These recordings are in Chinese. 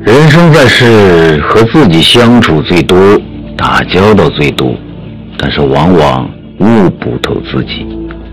人生在世，和自己相处最多，打交道最多，但是往往悟不透自己。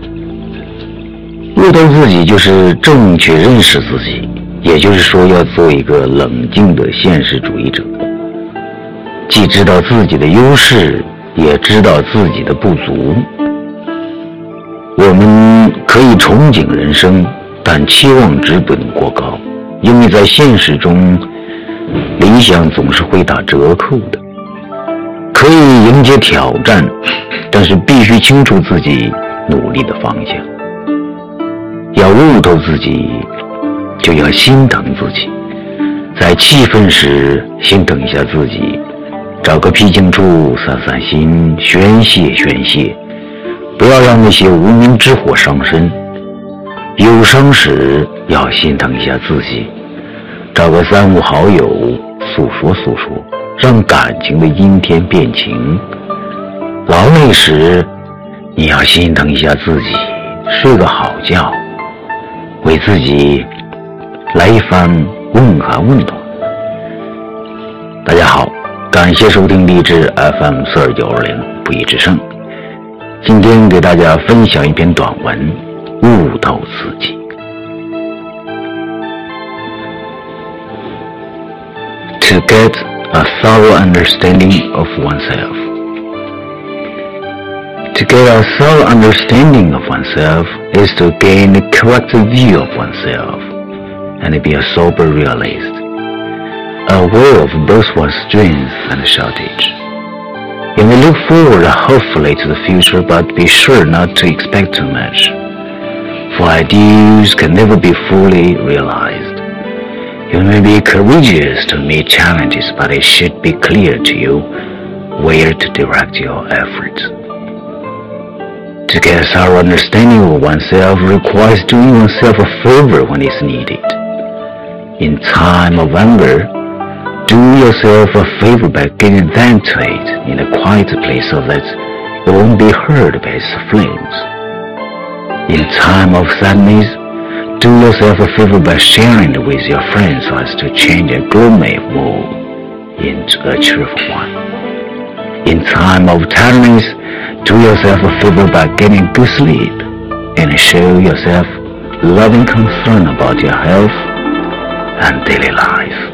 悟透自己就是正确认识自己，也就是说要做一个冷静的现实主义者，既知道自己的优势，也知道自己的不足。我们可以憧憬人生，但期望值不能过高，因为在现实中理想总是会打折扣的。可以迎接挑战，但是必须清楚自己努力的方向。要悟透自己，就要心疼自己，在气愤时心疼一下自己，找个僻静处散散心，宣泄宣泄，不要让那些无名之火伤身。有伤时要心疼一下自己，找个三五好友诉说诉说，让感情的阴天变晴。劳累时你要心疼一下自己，睡个好觉，为自己来一番问寒问暖。大家好，感谢收听励志 FM42920不义之声。今天给大家分享一篇短文，悟透自己。To get a thorough understanding of oneself. To get a thorough understanding of oneself is to gain a correct view of oneself and be a sober realist, aware of both one's strength and shortage. You may look forward hopefully to the future, but be sure not to expect too much, for ideals can never be fully realized. You may be courageous to meet challenges, but it should be clear to you where to direct your efforts. To get a thorough understanding of oneself requires doing oneself a favor when it's needed. In time of anger, do yourself a favor by getting vent to it in a quiet place so that it won't be hurt by its flames. In time of sadness, do yourself a favor by sharing it with your friends so as to change a gloomy mood into a cheerful one. In time of tiredness, do yourself a favor by getting good sleep and show yourself loving concern about your health and daily life.